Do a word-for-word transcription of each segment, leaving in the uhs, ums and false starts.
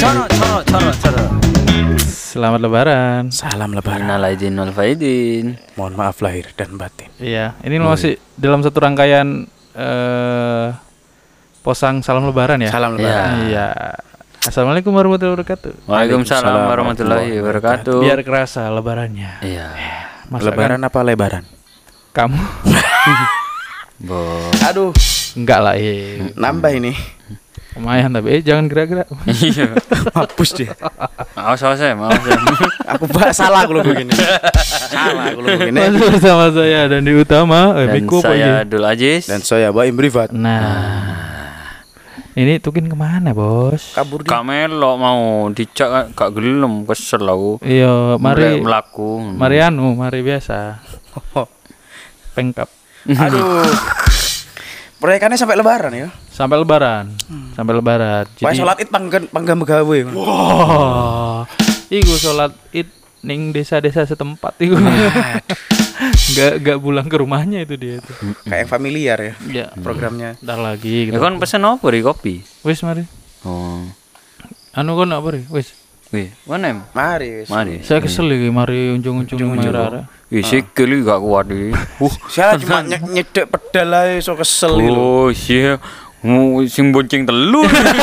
Coro, coro, coro, coro. Selamat Lebaran. Salam Lebaran. Innal aidin wal faidin. Mohon maaf lahir dan batin. Iya, ini masih dalam satu rangkaian eh posang salam Lebaran ya. Salam Lebaran. Iya. Assalamualaikum warahmatullahi wabarakatuh. Waalaikumsalam warahmatullahi wabarakatuh. Biar kerasa Lebarannya. Iya. Masa Lebaran apa lebaran? Kamu? Bo. Aduh, Enggak lah, eh. nambah ini. Lumayan tapi eh jangan gerak-gerak. Iya. Hapus dia. Awas awas ya, awas ya. Aku bah salah kalau begini. Salah kalau begini. Masih bersama saya dan di utama eh, Dan Miko apa saya ini? Abdul Aziz. Dan saya Baim Privat. Nah. Ini Tukin kemana bos? Kabur dia. Kak Melo mau dicak kak gelem kesel aku. Iya, mari melaku. Mari anu, mari biasa. Pengkap. Aduh. Proyekannya sampai lebaran ya. Sampai lebaran. Sampai lebaran. Wah, sholat id panggan panggang begawe. Wah. Iku sholat id ning desa-desa setempat iku. Enggak enggak pulang ke rumahnya itu dia itu. Kayak yang familiar ya Ya, programnya. ntar lagi Ya gitu. kan pesen apa di kopi? Wis mari. Oh. Anu kon apa ri? Wis. Wih, mana em? Mari wis. Mari. Saya kesel iki mari unjung-unjung merah. Ih, sikil gak kuat iki. Uh, Saya cuma nye- nyedek pedal ae so kesel iki lho. oh, iya. Mu sing bonceng telu.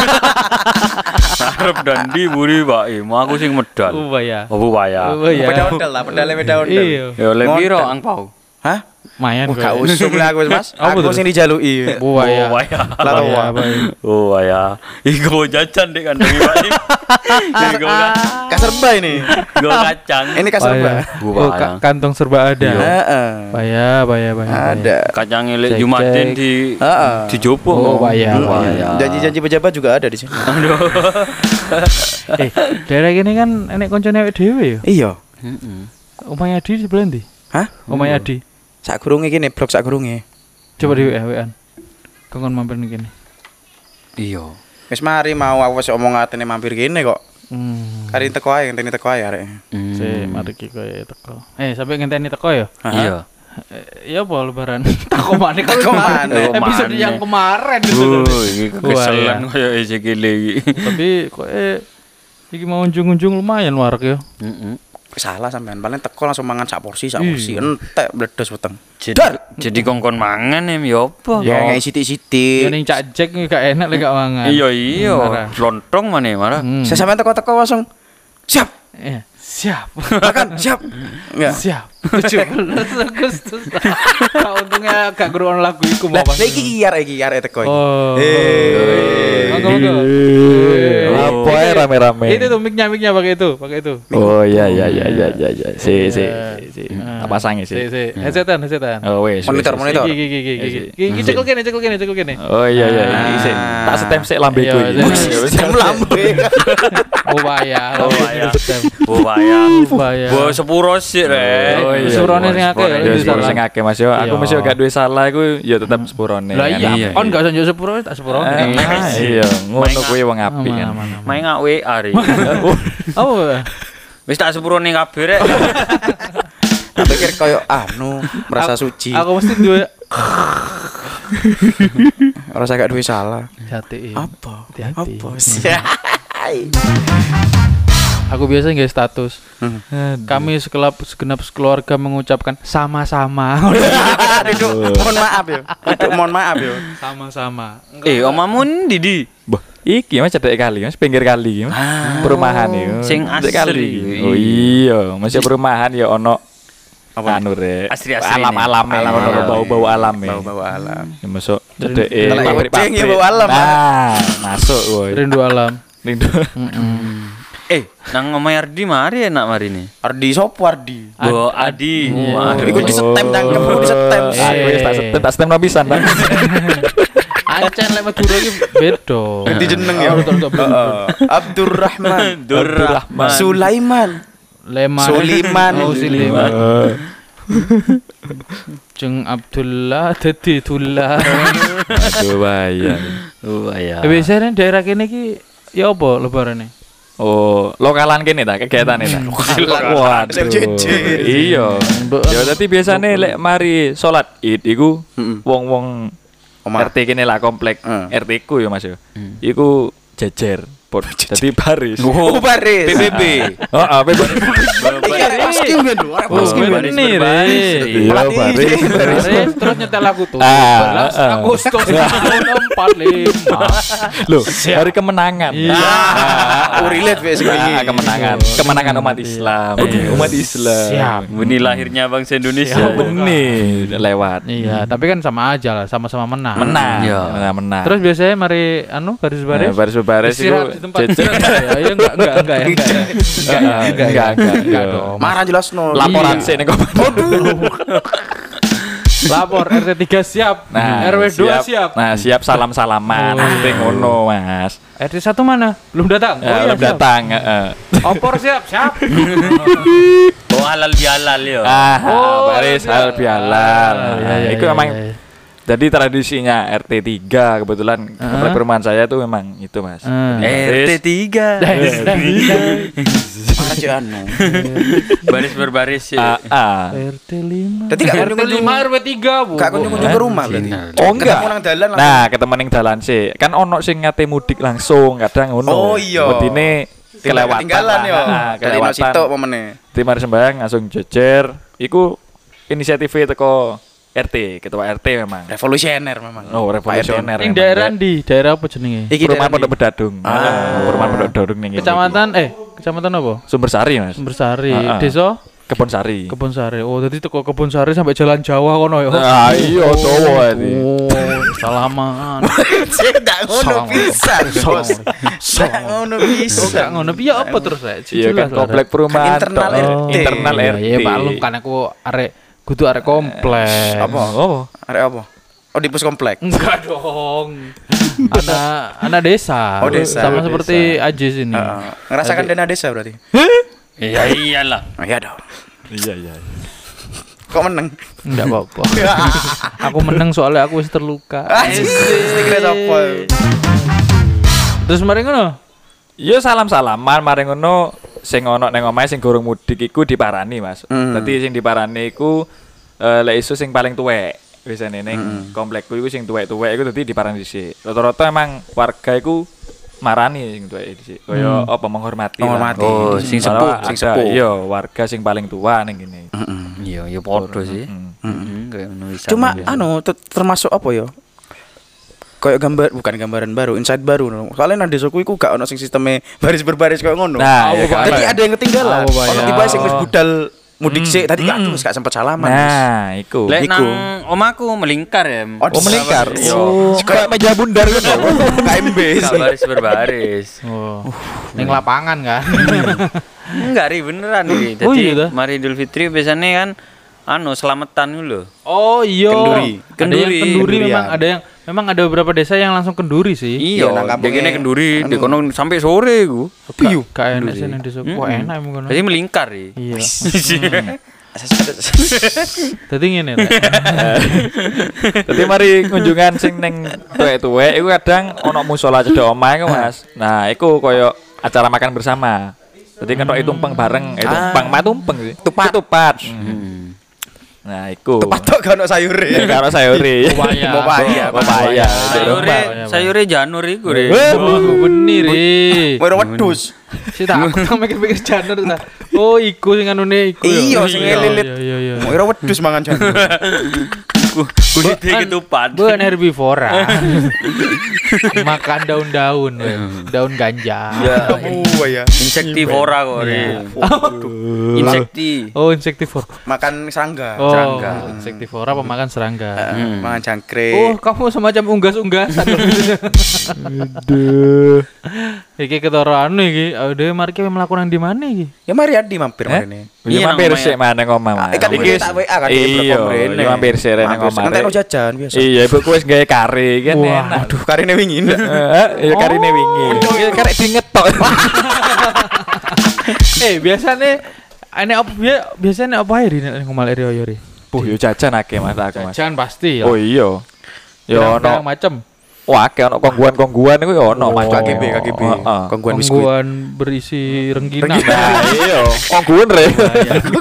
Arep dan di buri Pak. Eh, mau aku sing medal. Ubaya. Oh, Bupaya. Ubaya. Peda ondel lah, pedalnya peda ondel. Iya. Ya oleh piro Ngonten. angpau? Hah? Mayan Wah, gak usum lah aku Mas. Apa Aku tuh? sing dijaluki. Ubaya. Bupaya. Lah tau Ubaya, wah. Ubaya. Oh, ya. Iku jajan dek kandang Pak. Iku kan. Kaserba ini. Go kacang. Ini kaserba. Oh, Bupaya. ka- kantong serba ada. Heeh. Baya, baya, baya. Ada. Kacang elek Cek, Jumatin cek. di Heeh. di Jopo. Oh, Bupaya. Bupaya. Janji-janji pejabat juga ada di sini. Eh, daerah gini kan enek koncone awake dhewe ya. Iya. Heeh. Omahe Adi sebelah ndi? Hah? Omahe Adi. Sak gurunge kene, blok sak gurunge. Coba di W A-an. Kongkon mampir nih kene. Iya. Wis mari mau aku wis omong atene mampir kene kok. Hmm. Kari teko ae, ngenteni teko ae arek. Hmm. Si, mari ki koyo teko. Eh, sampai ngenteni teko ya? Iya. Eh, iya apa lebaran? Tako maneh Tako maneh. Episode maneh. yang kemarin itu. Oh, ini kekeselan koyo Ezekiel iki. Tapi kok eh iki mau unjung-unjung lumayan warak ya. Heeh. Salah sampean, paling teko langsung mangan sak porsi, sak Iya. porsi. Entek bledos weteng. Jadi, jadi kongkon mangan em ya apa? Ya ngei Ya sithik-sithik. ning Cak Jack iki gak enak lek gak mangan. Iya iya, Marah. lontong mana marah. Hmm. Saya sampean teko-teko langsung siap. Iya, siap. Makan, siap. Enggak. Siap. tujuh belas Agustus. Kau untungnya gak ngrungokno lagu iku mau Lah, pas. lah iki arek iki arek teko iki. Oh. Eh. Monggo monggo. Apa ya rame-rame? Itu tuh mic-nya mic-nya pakai itu, pakai itu. Oh iya iya iya iya iya iya. Si si si. Ah. Apa sange Si, sih? si. Headsetan, headsetan. Oh wes. Monitor, wes, wes. monitor. Iki iki iki iki. Iki cekel kene, cekel kene, cekel kene. Oh iya iya. Ah. Iki sih. Tak setem sik lambeku Iya, iki. iya. Jam lambe. Ubaya. Bupaya. Bupaya. Ubaya. Bo sepuro sih re. Oh iya. Surone sing akeh, Sepuro. Ya Itu sepuro salah. sing akeh Mas yo. Aku Iya. mesti gak duwe salah iku ya tetep sepurone. Lah kan. iya, Iya, kon iya. gak usah njuk sepuro, tak sepuro. Eh, Iya, ngono kuwi wong apik Aman, kan. aman, aman. Main ngak W A re. Apa? Wis tak sepuro ning kabeh rek. Tak pikir koyo anu, merasa suci. Aku mesti duwe Ora gak duwe salah. hati. Apa? Hati-hati. Apa? Aku biasa nggak status. Hmm. Kami sekelap segenap keluarga mengucapkan sama-sama. Duduk, mohon maaf ya. Duduk, mohon maaf ya. Sama-sama. Eh, omamu ndi di? Bah, iki Mas cedek kali, Mas pinggir kali. Mas. Perumahan iki. Sing Cedek asri. Oh iya, masih perumahan ya ono Apa? anu rek. Asri-asri Alam-alam nih. ya, Alam, ono iya, bau-bau alam ya. Bau-bau alam. Ya masuk Dari- cedek eh Kalau yang pabrik kucing ya pabrik. bau alam. Nah, masuk woi. Rindu alam. Rindu. Eh, nang omahe Ardi mari enak mari nih. Ardi sopo Ardi? Bo Adi. Aduh, Waduh. iku di setem cangkem, iku di setem. Eh. Aku wis tak setem tak setem pisan Bang. Ancen lek Madura iki beda. Ganti jeneng ya. Oh, betul, betul, betul. Heeh. Abdurrahman. Durrahman. Sulaiman. Leman. Suliman. Oh, Suliman. Eh, Jeng Abdullah dadi Dullah. Aduh bayang. Oh ya. Eh, biasanya daerah kene iki ya apa lebarane? Oh, lokalan kene ta kegiatane ta. Waduh. Sing jejer. Iya. Mbok- Ya dadi biasane lek mari salat Id iku Heeh. wong-wong Omah. R T kene lah komplek Hmm. R T ku ya Mas ya. Iku jejer dicopot. Jadi baris. Oh, baris. P B B. Heeh, P B B. Iya, poskim kan lho, arek Oh, poskim kan. bener, berbaris. eh. Iya, Pelatih. baris. Baris, terus nyetel lagu tuh. Ah, Belas ah. Agustus empat lima. Loh, hari kemenangan. Iya. Oh, relate wes Ah, kemenangan. Kemenangan umat Islam. Umat Islam. Siap. Ini lahirnya bangsa Indonesia. Oh, bener lewat. Iya, tapi kan sama aja lah, sama-sama menang. Menang. Iya. Menang, menang. Terus biasanya mari anu baris baris. Nah, baris baris itu Istirahat di tempat. jejer. Ya, ya enggak enggak enggak ya, enggak. ya. Enggak ya, enggak. Enggak, ya. enggak. Enggak dong. Marah jelas no. Laporan Iya. sih nih Lapor R T tiga siap. Nah, R W dua siap. Nah, siap salam-salaman. Oh, iya. Nanti ngono, Mas. R T satu mana? Belum datang. Ya, belum siap. datang, heeh. Opor siap, siap. Oh halal bihalal yo. Ah, Oh, baris halal hal bihalal. Iya, Nah, iya, itu iya, memang iya. jadi tradisinya R T tiga kebetulan komplek perumahan saya tuh memang itu, Mas. Hmm. R T tiga. Marah aja anu. Baris berbaris sih. Ah, ah. R T lima. Dadi gak R T kunjung-kunjung. lima R W tiga, Bu. Gak kunjung-kunjung ke rumah berarti. Oh enggak. Ketemu nang dalan langsung. Nah, ketemu ning dalan sih. Kan ono sing ngate mudik langsung, kadang ngono. Oh, iya. Wedine kelewatan. Ketinggalan lah. yo. Ah, Dari no kelewatan. sitok apa meneh. Timar sembayang langsung jejer. Iku inisiatif teko R T, ketua R T memang. Revolusioner memang. Oh, revolusioner. Ning memang. daerah di daerah apa jenenge? Iki Perumahan daerah Pondok di- Bedadung. Ah. Ah, Perumahan Pondok Bedadung ning. Kecamatan eh kecamatan apa? Sumbersari, Mas. Sumbersari, Ah, ah. desa Kebonsari. Kebonsari. Oh, jadi teko Kebonsari sampai Jalan Jawa kono ya. Ah, iya dawa iki. Oh, salaman. Cek gak ngono Salah. pisan. Bos. Gak ngono Oh, gak pisan. ngono piye apa terus rek? Iya kan komplek perumahan Internal tok. R T. Internal Iya, R T. iya maklum kan aku arek kudu arek komplek. Apa? Oh. Arek apa? Oh di pos komplek. Enggak dong. anak anak desa. Oh, desa. Sama Oh, seperti Ajis ini. Heeh. Ngerasakan dana desa berarti. Iya iyalah. Oh, iya dong. Iya, iya. Kok menang? Enggak apa-apa. Aku menang soalnya aku wis terluka. Anjir, kira sapa? Terus mari ngono. Iya salam-salaman mari ngono sing ono ning omahe sing gorong mudik iku diparani, Mas. Hmm. Dadi sing diparani iku eh lek iso sing paling tuwek. Biasane ning komplekku iku sing tuwek-tuwek iku dadi diparani dhisik. Rata-rata emang warga iku marani sing tuwek dhisik. Kaya apa menghormati. lah. Menghormati. Oh, sing Kalau sepuh, sing ada- sepuh. Iya, warga sing paling tua ning kene. Iya, ya podo sih. Mm. Heeh, kayak ngono bisa. Cuma anu te- termasuk apa ya? Kayak gambar bukan gambaran baru, insight baru. no. Soalnya nang desaku iku gak ono sing sisteme baris berbaris kayak ngono. Nah, Oh, ya kan. Tadi ada yang ketinggalan. Oh, Ono bayar. tiba sing wis budal mudik sik, tadi gak Hmm. terus gak sempat salaman. Mas. Nah, iku. Lek Iku. nang omaku melingkar ya. Oh, Oh, melingkar. Iya. Oh, kayak meja bundar gitu. K M B. Baris berbaris. Oh. Ning lapangan kan. Enggak ri beneran ri. Oh, Jadi iya dah. mari Idul Fitri biasanya kan anu selamatan dulu. Oh iya. Kenduri. Ada yang Kenduri. kenduri memang Kendurian. ada yang memang ada beberapa desa yang langsung kenduri sih. Iya, nang kampungnya begini kenduri anu. di kono sampai sore ku. Piyu. K N S nang desa. Wah, enak emang kono. Jadi melingkar ri. Iya. Asas- Dadi ngene Rek. Dadi mari kunjungan sing ning tuwek-tuwek iku kadang ono musala cedhak omahe ku, Mas. Nah, iku koyo acara makan bersama. Jadi kan tok tumpeng bareng, eh tumpeng mah tumpeng sih. Tupat. tupat. Hmm. Nah, iku. Patok gak ono sayure. Ya karo sayuri. Pepaya. Pepaya. Pepaya. Sayure, sayure janur iku ri. Oh, bener ri. Wero wedhus. Si tak aku tak mikir-mikir janur ta. Oh, iku sing anune iku. ya. Iya, sing ngelilit. Iya, iya, iya. Wero wedhus mangan janur. Kulit ketupat. Bukan herbivora. Makan daun-daun, we. daun ganja. Oh ya. Insektivora kok ri. Insekti. Oh, insektivora. Makan serangga. Oh, Serangga. insektivora pemakan serangga. Eh, Mangan Oh, jangkrik. kamu semacam unggas-unggasan. Aduh. Iki ketara anu iki. Udah mari kita melakukan di mana iki? Ya mari Adi mampir Eh? ini. Iya Iya, mampir nang sik mana ngomah. Mas. Ikan Iki mulai tak W A kan di Iya, blog mrene. iya mampir sik rene Mampir, ngomah. ngantekno jajan biasa. Iya, ibuku wis gawe kari kan Wah, enak. Aduh, karine wingi ndak. Heeh, ya karine wingi. Ya karek dingetok. Eh, biasanya ane apa bia- biasanya apa ae di nek ngomal area yo ri? Puh, yo jajan akeh Mas aku, Mas. Jajan pasti ya. Oh iya. Yo Pirang-pirang ono macam. wah akeh ono kongguan-kongguan iku yo ono Mas. K G B, K G B. Heeh. Kongguan biskuit. Kongguan berisi rengginang. Nah, iya, kongguan re.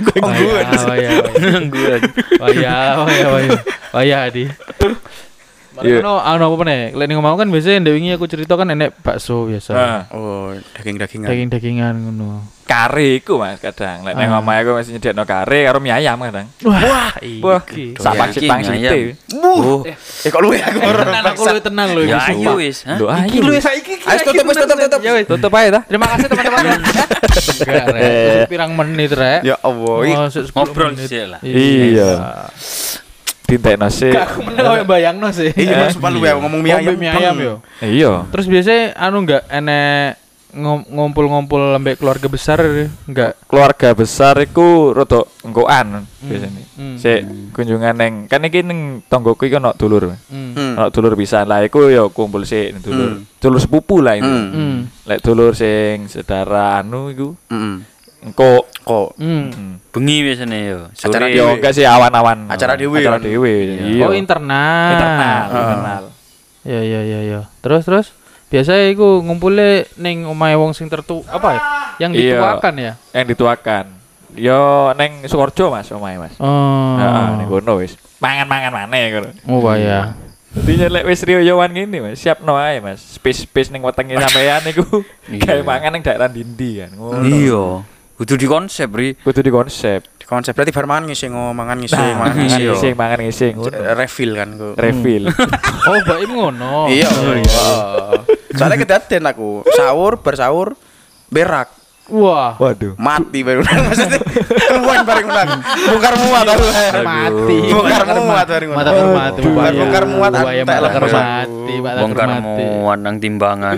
Kongguan. Waya, waya. Waya, waya, waya. Waya di. Iya. Ono ono apa nih? Lek ning omahku kan biasanya ndek wingi aku cerita kan enek bakso biasa. Nah, Oh, daging-dagingan. Daging-dagingan ngono. kare iku Mas kadang. Lek nang Ah. omah aku mesti nyediakno kare karo mie ayam kadang. Wah, Wah, iki. sak Yakin, pang ayam. sithik. Oh, Eh kok lu ya aku Tenang aku luwih tenang lho ya iki. ayo wis, ha? Lho Iki ayo. lho saiki. Ayo tutup wis tutup tutup. Ya wis. Tutup ae ta. Terima kasih teman-teman. Enggak, Rek. Terus pirang menit, Rek. Ya Allah. ih. Oh, sepuluh Ngobrol menit. sih lah. Iya. Dintekno sih. Gak aku meneng koyo bayangno sih. Iya, Mas Palu ya ngomong mie Oh, ayam. mie ayam yo. Iya. Terus biasanya anu enggak enek ngom- ngumpul-ngumpul lembek keluarga besar enggak? Keluarga besar iku rada engkoan biasanya. Hmm. Sik kunjungan neng kan iki ning tonggoku iki ono dulur. Hmm. Hmm. Ono dulur pisan lah iku ya kumpul sik dulur. Hmm. Dulur sepupu lah itu. Hmm. Hmm. Lek dulur sing sedara anu iku Heeh. engko Kok Hmm. hmm. Bengi biasanya yo. Acara Sore. Dewe. yo enggak sih awan-awan. Acara dewe Acara kan? dewe. Iya. Oh, internal. internal, Ah. internal. Ya ya ya ya. Terus terus biasanya iku ngumpulnya ning omahe wong sing tertu apa ya? Yang Iya. dituakan ya. Yang dituakan. Yo neng Sukorejo Mas omahe Mas. Oh. Heeh, ning kono wis. Mangan-mangan maneh ngono. Oh ya. Dadi lek wis riyowan ngene Mas, siapno ae Mas. Space-space ning wetenge sampean niku gawe Iya. mangan ning daerah Dindi kan. Ngono. Iya. Kudu di konsep, Ri. Kudu di konsep. konsep berarti bar mangan ngising oh mangan ngising Nah, mangan mangan ngising. ngising, mangan ngising. ngono. Refill kan ku. Refill. Oh, baim ngono. Iya. Wah. Soalnya kedaten aku sahur bersahur berak Wah. Waduh. mati baru maksudnya keluar bareng ulang bongkar muat baru Mati. bongkar muat bareng Mata ulang mati. bongkar bongkar muat Bahaya antek lah mata karo mati, mata Bongkar mati. muat nang timbangan.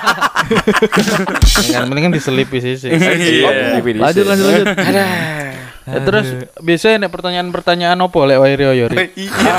Yang penting kan diselipi sih. sih. Iya. Lanjut lanjut lanjut. Ya, terus biasanya nek pertanyaan-pertanyaan opo lek wae Rio yo. Ri?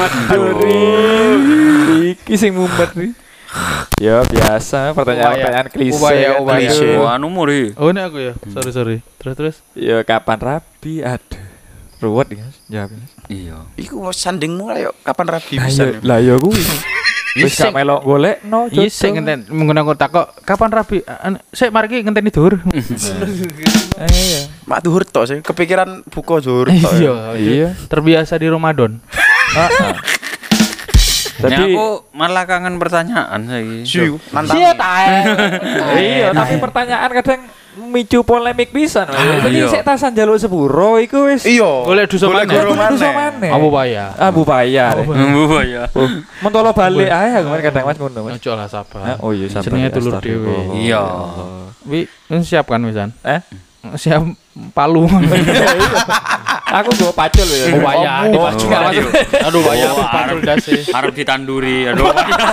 Iki sing mumet nih. Ya biasa pertanyaan-pertanyaan klise. Upaya- kan. upaya. Klise. Wah, anu Ri. Oh, ini aku ya. Sorry sorry. Terus terus. Ya kapan rapi? Aduh. Ruwet ya jawabnya. Iya. iku sandingmu ayo kapan rabi Lah bisa ya, lah ya kuwi. Wis gak melok golek no Iya, sik ngenten menggunakan takok kapan rabi? An- Sik mari ki ngenteni dur. Iya. mak duhur tok sih kepikiran buka zuhur tok Iya, Iya. terbiasa di Ramadan. Heeh. Tapi Tapi aku malah kangen pertanyaan saiki. Siu, nantang iya, tapi pertanyaan kadang memicu polemik pisan. Ah, Jadi iya. sik tasan njaluk sepuro iku wis iya Golek duso golek maneh. goro Golek duso maneh. maneh. Abu Baya. Abu bayar. Bu ya. Mentolo balik ae aku kemarin kadang Mas ngono Mas. Ojo lah sabar. Ah, oh iya sabar. Jenenge dulur Astagfirullah. dhewe. Iya. Wi, wis siap kan wisan? Eh? Siap palu. Aku gue pacul ya. Oh, waya, Oh, dipacul. enggak, maksudnya- Aduh, Baya Oh, pacul dasi. Arep ditanduri. Aduh.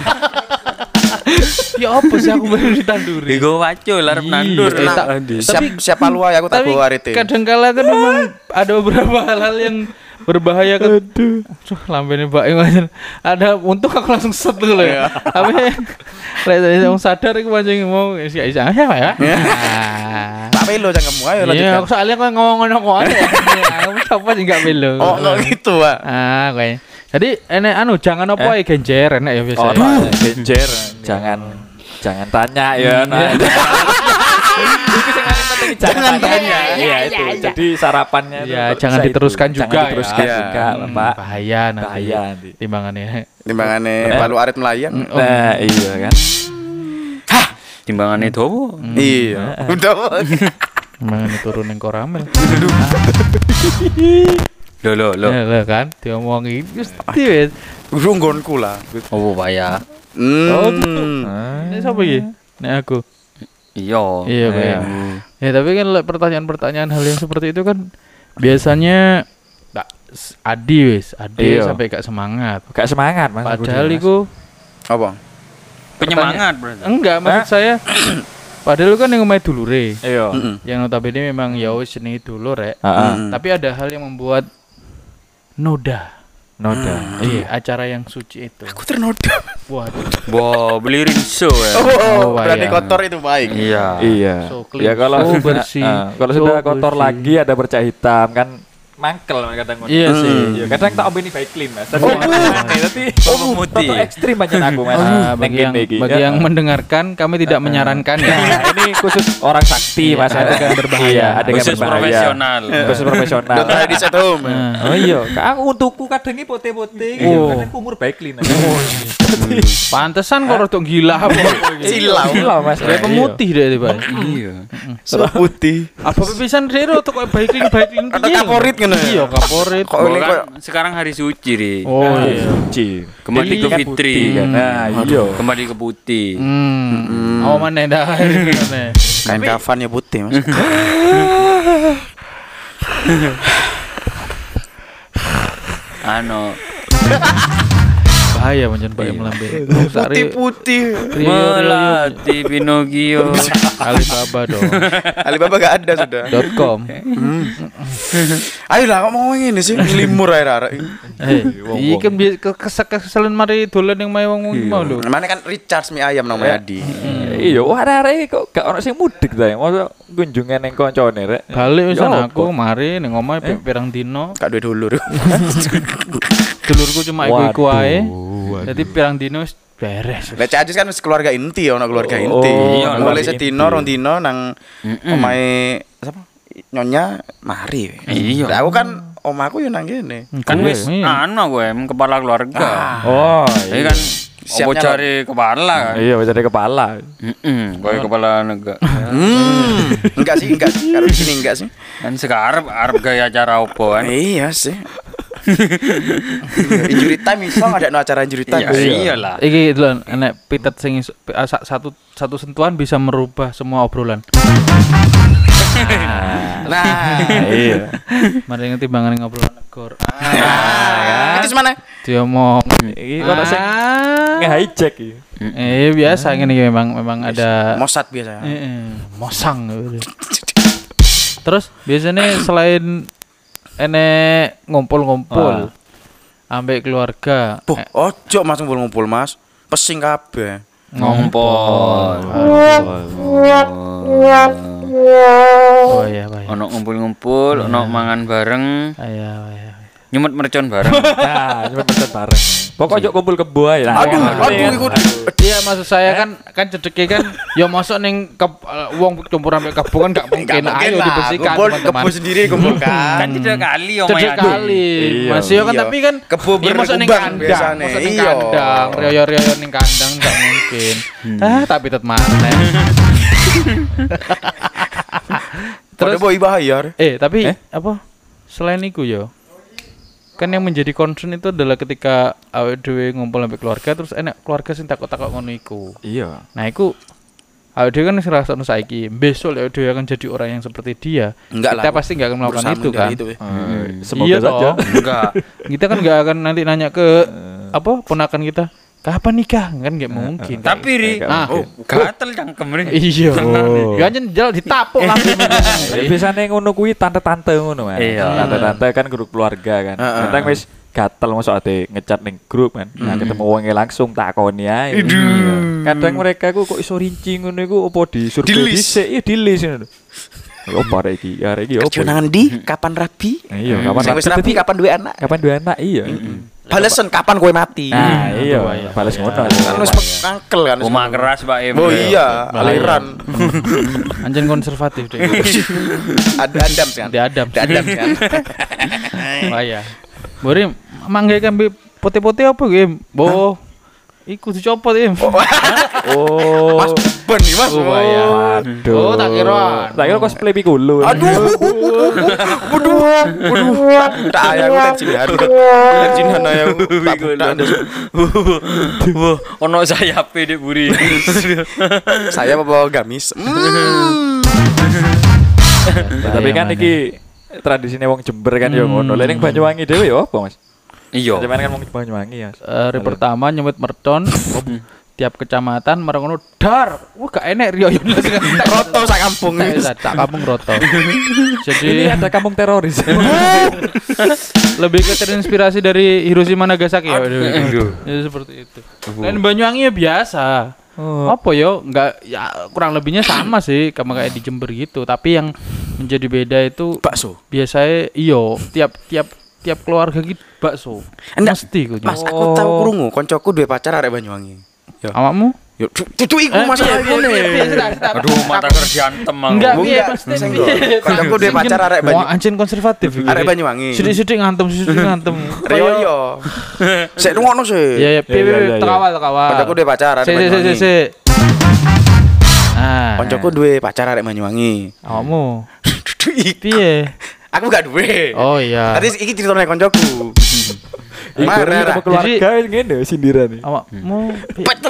Ya apa sih aku baru ditanduri? Digo wacul arep Iya, nandur. eh, tak- Adi. siap siap palu ae aku tak Tapi bawa arete kadang-kala kan memang ada beberapa hal-hal yang berbahaya kan. Aduh, lambene Mbak Iwan. Ada untung aku langsung set dulu ya. Tapi lek saya sadar aku pancing mau isi isi ya Pak ya. Nah. tak pelo janganmu ayo Iya, lanjutkan aku soalnya kok ngomong-ngomong kok aja. Aku siapa sih enggak belo. oh enggak gitu pak Ah, kayaknya. Jadi enek anu jangan apa ya genjer enek ya biasa. Oh, ya. genjer. Jangan jangan tanya ya. Nah. Itu yang paling penting jangan tanya. Iya itu. Jadi sarapannya itu Ya, kok jangan bisa diteruskan itu. juga Jangan diteruskan ya. juga, Hmm, Pak. bahaya nanti. Bahaya nanti. Timbangannya. timbangane Eh. palu arit melayang Oh. Nah, iya kan. Timbangane dawa. iya udah Timbangannya turun yang koramel. Lho lho lho. Ya lah kan diomongi mesti wis. runggonku lah Oh, Baya. Oh, hmm gitu. Ini siapa iki? Nek aku. Iya. Iya, Pak, ya. Ya tapi kan lek pertanyaan-pertanyaan hal yang seperti itu kan biasanya tak s- adi wis, adi Iya. sampai gak semangat. Gak semangat, Mas. Padahal Mas. iku apa Penyemangat berarti. enggak maksud saya padahal kan yang omahe dulure. Iya. Heeh. Yang notabene memang ya wis jenenge dulur rek. Heeh. Mm. Tapi ada hal yang membuat noda. Noda. Iya, acara yang suci itu. aku ternoda Waduh. Wah, beli rinso ya. oh, Oh, berarti bayang. kotor itu baik Iya. Iya. So clean, Ya kalau so sudah bersih, eh, kalau so sudah kotor bersih. lagi ada bercak hitam kan mangkel kadang ngono. Iya sih. Iya, kadang tak ombeni baik clean Mas. Tapi tapi Oh, pemutih. Toto ekstrim aja aku Mas. Ah, Neng bagi yang kene iki. bagi Ya. yang mendengarkan kami tidak menyarankan ya. Nah, ini khusus orang sakti Mas. Ada yang berbahaya. Iya, ada yang Khusus berbahaya. profesional. Khusus profesional. Dokter di at home. Nah, Oh iya, aku untukku kadang iki pote-pote iki Oh. kadang kumur baik clean. pantesan kok rada gila apa. Silau. Silau Mas. Kayak pemutih deh tiba. Iya. Sama putih. Apa pisan rero tuh kok baik baik Atau kaporit ngono ya? Iya, kaporit. Kok ini Kan kok sekarang hari suci, Ri. Oh iya. Ci. Kembali ke Kan fitri. putih kan. Nah, iya. Kembali ke putih. Hmm. Oh mana dah. kain kafan ya putih, Mas. Ano, Bahaya pancen Pak melambe. Putih-putih. melatih Pinocchio. Alibaba dong. Alibaba gak ada sudah. dot com. Ayolah kok mau ngene sih limur ae arek. Eh, iki kan bi- ke- kesek keselen mari dolan yang mae wong mau lho. Mana kan Richard mie ayam nang Adi. Iya, wah arek kok gak ono sing mudik ta. Masa kunjungan ning koncone rek. Balik wisan Ya, aku apa? mari ning omahe pi- pirang dino. Gak duwe dulur. Dulurku cuma iku-iku ae. Waduh. Jadi pirang dino wis beres. Lek Cak Ajis kan wis keluarga inti ono keluarga Oh, inti. iya, Mulai keluarga sedino inti. rong dino nang omahe sapa? Nyonya mari. Iya. Lah aku kan omaku yo nang kene. Kan Gue, wis iya. anu gue em kepala keluarga. Oh, Jadi kan Siapnya opo cari kepala kan. iya wis ada kepala. Heeh, koyo kepala negara. Hmm. Enggak sih, enggak sih. Kalau di sini enggak sih. Kan sekarang arep gaya acara opo kan. Iya sih. Injury time iso ada no acara injury time. Iya, iyalah. Iki lho enek pitet sing iso- pi- ah, sa- satu satu sentuhan bisa merubah semua obrolan. Nah, Iya. Mari ngerti timbangan ngobrolan negor. ah, itu mana? Dia ngomong. Iki ono sing Ah. nge-hijack iki. Eh biasa ngene iki memang memang ada Mossad biasa. eh, mosang gitu. Terus biasanya selain enek ngumpul-ngumpul ambek keluarga Puh, eh, ojo Mas ngumpul-ngumpul Mas. Pesing kabeh. Ngompol. oh iya baik. Ono ngumpul-ngumpul, ono mangan bareng, Iya iya. nyemut mercon bareng. Nah, cepet pesen bareng. Pokok ojo kumpul kebo ae lah. Aduh, Kan, aduh ikut. Iya maksud saya kan kan cedeke kan ya masuk ning ke- uh, wong campur ambek kebo kan gak mungkin. Ayo dibersihkan Kumpul teman-teman. kebo sendiri kumpulkan. Kan tidak kali Cedek omae. kali. Iya. Mas yo kan Iya. tapi kan Kebo ya masuk ning berkembang kandang, biasane. masuk ning Iya. kandang, rioyo-rioyo ning kandang gak mungkin. Ah, tapi tetep maneh. Terus Terus boy bayar. eh tapi Eh? apa? Selain itu yo. Kan yang menjadi concern itu adalah ketika awake dhewe ngumpul sampai keluarga terus enak keluarga sing takut-takut ngono iku. Iya. Nah, iku awake dhewe kan wis ngrasakno saiki, besok awake dhewe akan jadi orang yang seperti dia. Enggak Kita lah. pasti enggak akan melakukan Berusaha itu kan. menghindari itu, ya. Eh, Semoga Iya saja. toh. Enggak. Kita kan enggak akan nanti nanya ke apa ponakan kita, kapan nikah? Kan enggak mungkin. kan. Tapi ri, Ah. oh, gatel cangkem ri. Iya. Oh. Ya anjen jal ditapuk langsung. Ya, biasanya ngono kuwi tante-tante ngono Mas. Iya. Tante-tante kan grup keluarga kan. Heeh. Kadang wis gatel masuk ate ngecat ning grup kan. Nah, ketemu wonge langsung takoni ae. Kadang mereka ku kok iso rinci ngono iku opo di survei Di-list. dhisik ya di-list ngono. Opo arek iki? Arek iki opo? Kerja nang ndi? Kapan rabi? Iya, kapan Sing wis rabi kapan duwe anak? Kapan dua anak? Iya. Balesen kapan kowe mati? Nah, iya, Dua, iya. balas ngono. Kan wis mangkel kan. wis Rumah keras Pak Em. Oh iya, aliran. Anjen konservatif deh. Ada Adam kan. Ada Adam. Ada Adam kan. Wah ya. Bori mangke kan bi putih-putih apa game? Bo. Iku dicopot im. Oh. Mas ben nih Mas. Oh, bahaya. Aduh. Oh, tak kira. Tak kira cosplay Piccolo. Aduh. Waduh. Waduh. Tak ayang tensinan. Tensinan ayang. Tak tak ada. Wah, ono sayape Dek Buri. Saya bawa gamis. Hmm. Tapi kan iki tradisine wong Jember kan ya ngono. Lah ning Banyuwangi dhewe ya apa, Mas? Iya. Sampeyan kan wong Banyuwangi ya. Eh, hari pertama nyemut mercon tiap kecamatan marang ngono dar. Wah gak enek riyo Roto sak kampung. Tak kampung roto. Jadi Ini ada kampung teroris. lebih ke terinspirasi dari Hiroshima Nagasaki ya. Aduh. Ya seperti itu. Dan Banyuwangi ya biasa. Oh. Apa yo? Enggak ya kurang lebihnya sama sih sama kayak di Jember gitu. Tapi yang menjadi beda itu Bakso. biasanya iyo tiap tiap tiap keluarga gitu bakso. Enggak. Mesti ku. Mas, aku tahu krungu koncoku duwe pacar arek Banyuwangi. Yo. Awakmu? Yo, itu iku masalah ngene. Aduh, mata kerja antem aku. Enggak, Enggak, piye pasti. senggol. Koncoku duwe pacar arek Wah, Banyuwangi. anjing konservatif iki. Arek Banyuwangi. Sidik-sidik ngantem, sidik ngantem. Yo yo. Sik rungokno sih. Iya, ya, piye Iya, iya, piye iya. tekawal tekawal. Koncoku duwe pacar arek Sik sik sik Banyuwangi. sik. Ah. Koncoku duwe pacar arek Banyuwangi. Awakmu Iku. piye? Aku gak duwe. Oh iya. Tadi iki ceritane koncoku. Iku Marah. sama keluarga ngene sindiran nih. Awakmu piye? Peter.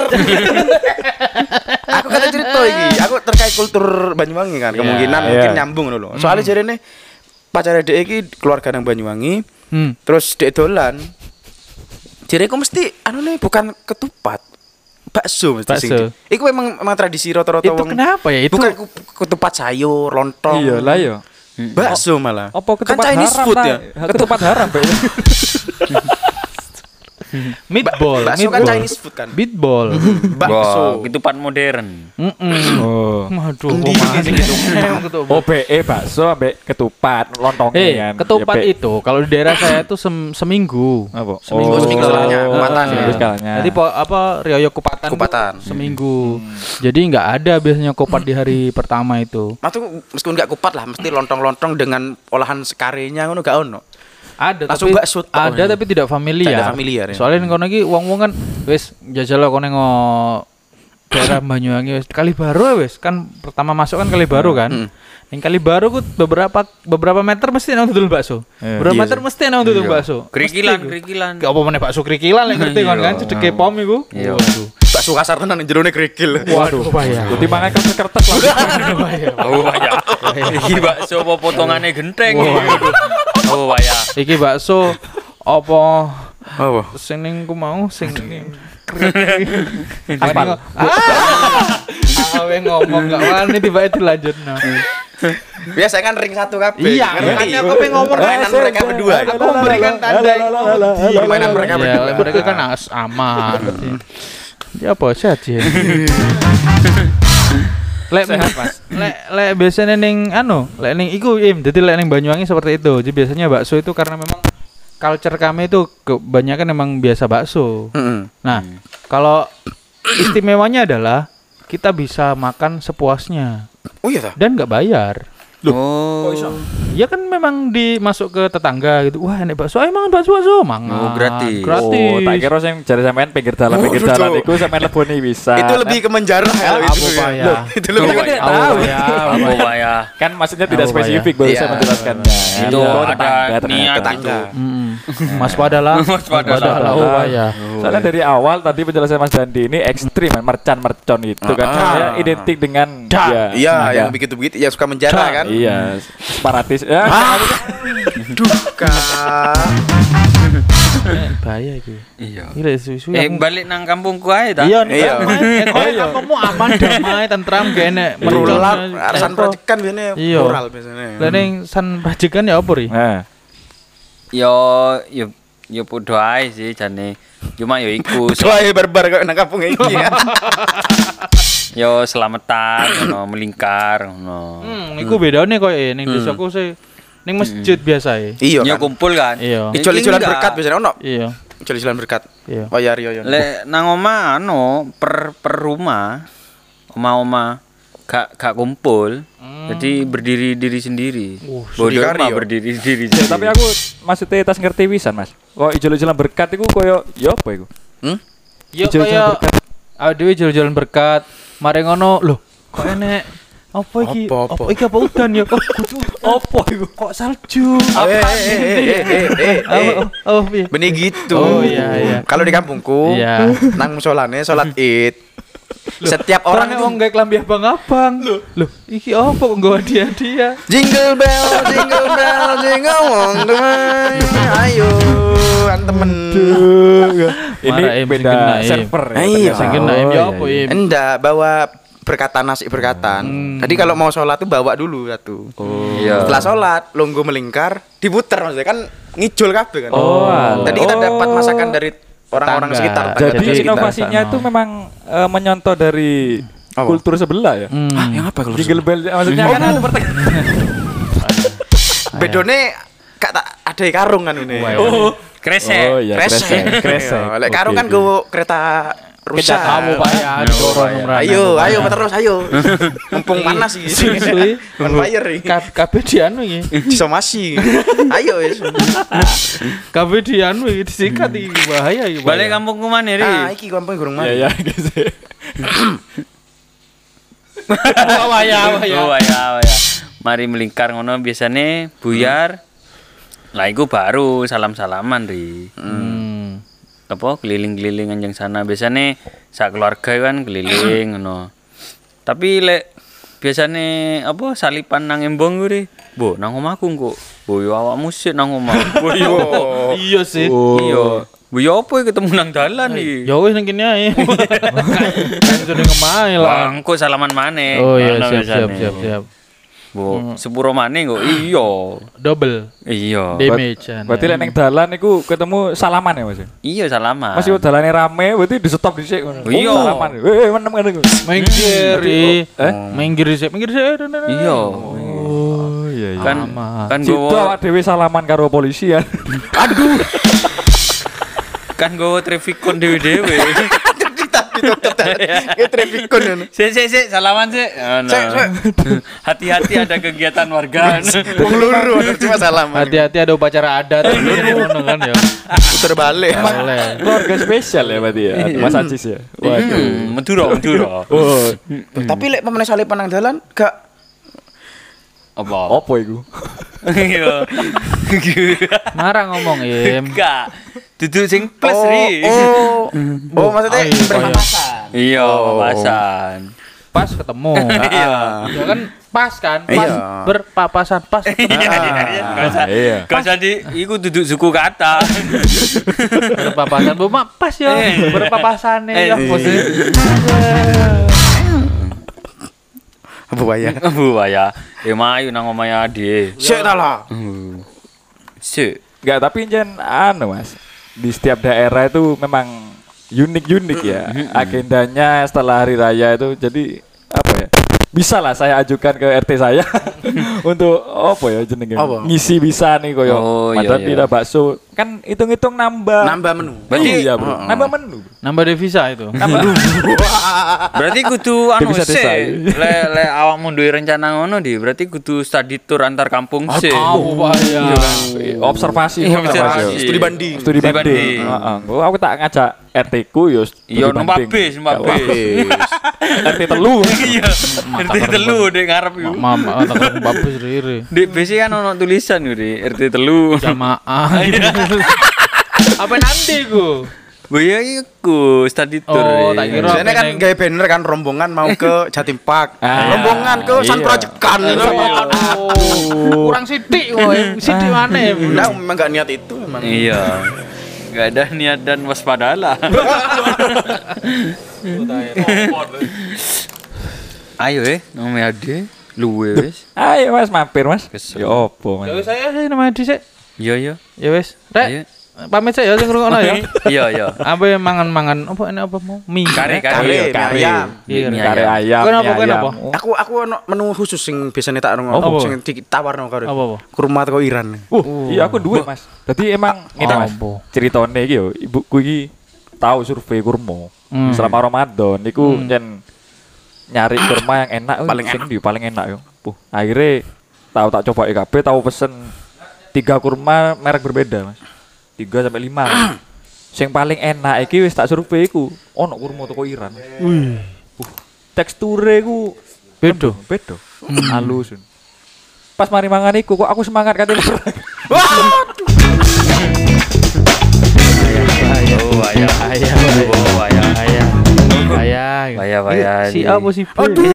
Aku kata cerita iki, aku terkait kultur Banyuwangi kan, Iya, kemungkinan iya. mungkin nyambung lho. Soalnya jarene pacare dhek iki keluarga nang Banyuwangi, Hmm. terus dhek dolan. Jareku mesti anune bukan ketupat. Bakso mesti sing. Bakso. Iku memang memang tradisi rata-rata Itu wong. kenapa ya? Itu Bukan ku- ketupat sayur, lontong. Iya lah yo. Bakso malah. Apa ketupat kan Chinese haram food lah. ya? Ketupat haram, Pak. meatball, Bakso kan meatball. Chinese food kan. Meatball. Bakso. Wah, ketupat modern. Mm-mm. Oh. Waduh, Endi kok iki masih gitu. O B E bakso ambek ketupat lontongnya Eh, kan. ketupat Ya, Be. itu kalau di daerah saya itu sem- seminggu. Apa? Seminggu, Oh, seminggu setelahnya, kupatan ya. Seminggu setelahnya. Jadi po, apa riyo kupatan? tuh Kupatan. seminggu. Jadi nggak ada biasanya kupat di hari pertama itu. Mas tuh meskipun gak kupat lah, mesti lontong-lontong dengan olahan sekarenya ngono gak ono. Ada Langsung tapi bakso tok ada ini. tapi tidak familiar. Tidak familiar, ya. Soalnya kono iki wong-wong kan wis jajal kono ngo daerah Banyuwangi wis Kali Baru wis kan pertama masuk kan Kali Baru kan. Mm. Ning Kali Baru ku beberapa beberapa meter mesti nang dodol bakso. Iya. Beberapa Iya meter sih. mesti nang dodol Iya. bakso. Kerikilan, Mesti ku. kerikilan. Gak apa meneh bakso krikilan lek ngerti kon kan Iya. cedeke pom iku. Iya. Waduh. Bakso kasar tenan jerone kerikil. Waduh, bahaya. Jadi mangan kertas-kertas lah. Bahaya. Oh, bahaya. Iki bakso apa potongannya genteng. Oh, bahaya. Iki bakso apa Oh. sing ning ku mau sing Apal. Ah, awe ngomong gak wani tiba-tiba dilanjutno. Biasa kan ring satu kabeh. Iya, Ngerti? makanya aku pengen ngomong Permainan mereka berdua. Aku memberikan tanda. Permainan mereka Ya, berdua. mereka kan as aman. Ya apa sehat ya. Lek lek lek biasanya ning anu, lek ning iku im, jadi lek ning Banyuwangi seperti itu. Jadi biasanya bakso itu karena memang culture kami itu kebanyakan memang biasa bakso. Heeh. Nah, kalau istimewanya adalah kita bisa makan sepuasnya Oh iya ta? dan nggak bayar. Oh. Ya kan memang dimasuk ke tetangga gitu. Wah, enak bakso. Ayo mangan bakso, bakso. Mangan. Oh, gratis. Gratis. Oh, tak kira sing jare sampean pinggir dalan pinggir Oh, dalan betul. iku sampean leboni bisa. Itu lebih ke menjarah ya Abu itu. Paya. Loh, Itu lebih Kan ke tidak Abu tahu. Paya, Abu Oh, Paya. bahaya. Kan maksudnya tidak Oh, spesifik iya. baru Iya. saya menjelaskannya. Itu Iya. ada Tetangga, niat tetangga. itu. Mm-mm. Mas padalah. Mas padalah. Oh, Paya. Soalnya dari awal tadi penjelasan Mas Dandi ini ekstrim kan, mercan-mercon itu kan. Ah. Saya identik dengan Dak. ya, Iya, ada. yang begitu-begitu ya suka menjarah kan. Iya, separatis. Ya, Duka. Eh, bahaya itu. Iya. Gila susu. Eh, balik nang kampungku ae ta. Iya, Iya. iya. Eh, kamu aman damai tentram gak enek Merulat, arasan proyekan biasanya Iya. moral biasanya. Lah ning san rajikan ya apa ri? Nah, Yo yo yo podo ae sih jane. Cuma yo iku so- Soalnya barbar kok nang kampung iki ya. yo selamatan ngono melingkar ngono. Hmm, iku bedane koyo ning desaku sih ning masjid biasa ya. Iya Yo kan. kumpul kan. Iya. Iki Ijol-ijolan enggak. berkat biasanya ono. Iya. Ijol-ijolan berkat. Iya. Oh ya Rio yo. Lek nang omah anu per per rumah oma-oma gak gak kumpul. Jadi berdiri diri sendiri. Uh, Bodoh Sudikari mah yo. berdiri diri ya, sendiri. tapi aku maksudnya tas ngerti wisan, Mas. Kok ijol-ijolan berkat iku koyo ya apa iku? Hmm? Yo Ijol-ijolan kaya berkat. adewe jalan-jalan berkat. Mari ngono, lho, kok enek apa iki? Apa, apa? Apa iki apa udan ya? Kok kudu apa iku? Kok salju? Eh, Apa eh, ini? eh, eh, eh, eh, Apa? eh. Oh, piye? Benih gitu. Oh, iya, iya. Kalau di kampungku, Iya. nang musolane salat Id. Setiap Orang orang itu wong gawe klambi abang-abang. Loh, loh, iki apa kok nggawa dia-dia? jingle bell, jingle bell, jingle all the way. Ayo, kan temen. Ini Marah, Im, beda sing kena, Im. server ya. Iya. ternyata. Sing kena Im, ya Oh, apa, iya, Im? Enggak, bawa berkatan nasi berkatan. Hmm. Jadi kalau mau sholat tuh bawa dulu satu. Iya. Setelah sholat, longgo melingkar, diputer maksudnya kan ngijol kabeh kan. Oh, alah. Jadi kita dapat Oh. masakan dari orang-orang Tetangga. sekitar. Jadi tetangga sekitar. inovasinya sana. itu memang eh, menyontoh dari Apa? kultur sebelah ya. Hmm. Ah, yang apa kalau Jingle bell maksudnya kan ada pertengkaran. Bedone gak tak ada karung kan ini. Oh, kresek. Oh iya, kresek. Kresek. Iya, lek karung Oke, kan oke. go kereta rusak. kamu Pak ya, dorong merana. Ayo, ayo terus ayo. Mumpung panas iki. Suwi. On fire iki. Ka- Kabeh di anu iki. Disomasi. Ayo wis. Kabeh di anu iki disikat iki bahaya iki. Balik kampungku mana ri? Ah, iki kampung gurung Iya, mati. iya, gitu. Waya waya. Oh ya, ya. Mari melingkar ngono biasane buyar. Lah iku baru salam-salaman ri. Hmm. Apa keliling-keliling anjing sana biasane sak keluarga kan keliling ngono. Tapi lek biasane apa salipan nang embong kuwi, Bo, nang omahku kok. Bo yo awakmu sik nang omah. Bo yo. Iya sih. Iya. Bu yo apa iki ketemu nang dalan iki? Ya wis nang kene ae. Kan sudah ngemae lah. Bangku salaman maneh. Oh iya Ngono siap siap biasane. siap siap. Bu, sepuro maneh kok. Iya. Double Iya. damage. Berarti lek ning dalan iku ketemu salaman ya, Mas? Iya salaman. Mas yo dalane rame, berarti di stop dhisik ngono. Iya. Oh, salaman. Eh, menem ngene. Minggir, Eh? minggir sih, minggir sih. Iya. Oh, iya iya. Kan Sama. kan Situ gowo awak dhewe salaman karo polisi ya. kan gowo traffic kon dewe-dewe. Kayak traffic kon ngono. Sik sik sik salaman sik. Ngono. Sik, sik. Hati-hati ada kegiatan warga. Wong loro ada cuma salaman. Hati-hati ada upacara adat ngono kan ya. Puter balik. Boleh. Keluarga spesial ya berarti ya. Mas Acis ya. Waduh. Hmm, Madura, Madura. Oh, Tapi lek pemene salipan nang dalan gak Apa? apa iku? Iya. Marah ngomong Im. Enggak. Duduk sing plus oh, ri. oh, oh, maksudnya Oh, iya, berpapasan. Iya, Oh. papasan. Pas ketemu. Iya. Ya kan pas kan, pas Iya. berpapasan, pas ketemu. Enggak usah. Iya. Enggak usah di iku duduk suku kata. Berpapasan, bu mak pas ya, Eh. berpapasan Eh, ya. eh. Maksudnya. Apa waya? Bu ya. Ya mayu nang omahe ade. Sik ta lah. Sik. Enggak, tapi jen anu Mas. Di setiap daerah itu memang unik-unik ya. Agendanya setelah hari raya itu jadi apa ya? Bisa lah saya ajukan ke R T saya untuk apa ya jenenge? Apa? Ngisi bisa nih koyo Oh, iya, Madura iya. pira bakso. Kan hitung-hitung nambah. Nambah menu. Berarti- iya, Bro. Heeh. Nambah menu. Nambah devisa itu. Berarti kudu anu Bisa sik. desa. Le le awakmu duwe rencana ngono di, berarti kudu study tour antar kampung sik. Tahu Pak ya. Observasi, Iya, observasi. Mas, yo. Studi banding. Studi Studi banding. banding. Heeh. Gua aku tak ngajak R T ku yo. studi Iya, numpak banding. bis, numpak Gak bis. apa-apa. R T telu. Iya. R T telu dek ngarep iku. Mama tak babus riri. Di bis kan ono tulisan kuwi R T telu. Jamaah. Apa nanti ku? Bu ya iku study tour. Oh, ya. tak kira- Biasanya kan Peneng. gawe banner kan rombongan mau ke Jatim Park. Ah, rombongan ke San iya. Proyekan. Oh, kurang sidik kok. Em. Sidik mana? Em? Nah, memang gak niat itu memang. Iya. Gak ada niat dan waspadalah. Ayo eh, nang ade luwe wis. Ayo Mas mampir Mas. Kesel. Ya opo Ya Mas. wis saya sih nama dhisik. Iya iya. Ya wis. Ayo. Rek, pamit saya sing ngrungokno ya. Iya iya. Apa ya mangan-mangan apa ini apa mau? Mie. Kare Kare, kare. mie kare. ayam. Iya. Mie Kare ayam. Kowe apa, mie kowe ayam. apa? Aku aku ono menu khusus sing biasanya tak Apa? ono sing ditawarno karo. Apa, apa? Kurma teko Iran. Uh, iya aku duwe Mas. Dadi emang ngene Mas. Apa? Ceritane iki yo, ibuku iki tahu survei kurma. Hmm. Selama Ramadan niku jen nyari kurma yang enak Paling sing ndi paling enak yo. Puh, akhirnya tahu tak coba E K B, tahu pesen tiga kurma merek berbeda Mas. Tiga sampai lima. Sing paling enak iki wis tak survei iku ono kurma toko Iran. Wih. Uh, teksture ku Beda. beda. Halus. Pas mari mangan iku kok aku semangat katanya. Oh ayah. Ayah. Oh ayah. Ayah. Ayah. Ayah ayah. Si A apa si B?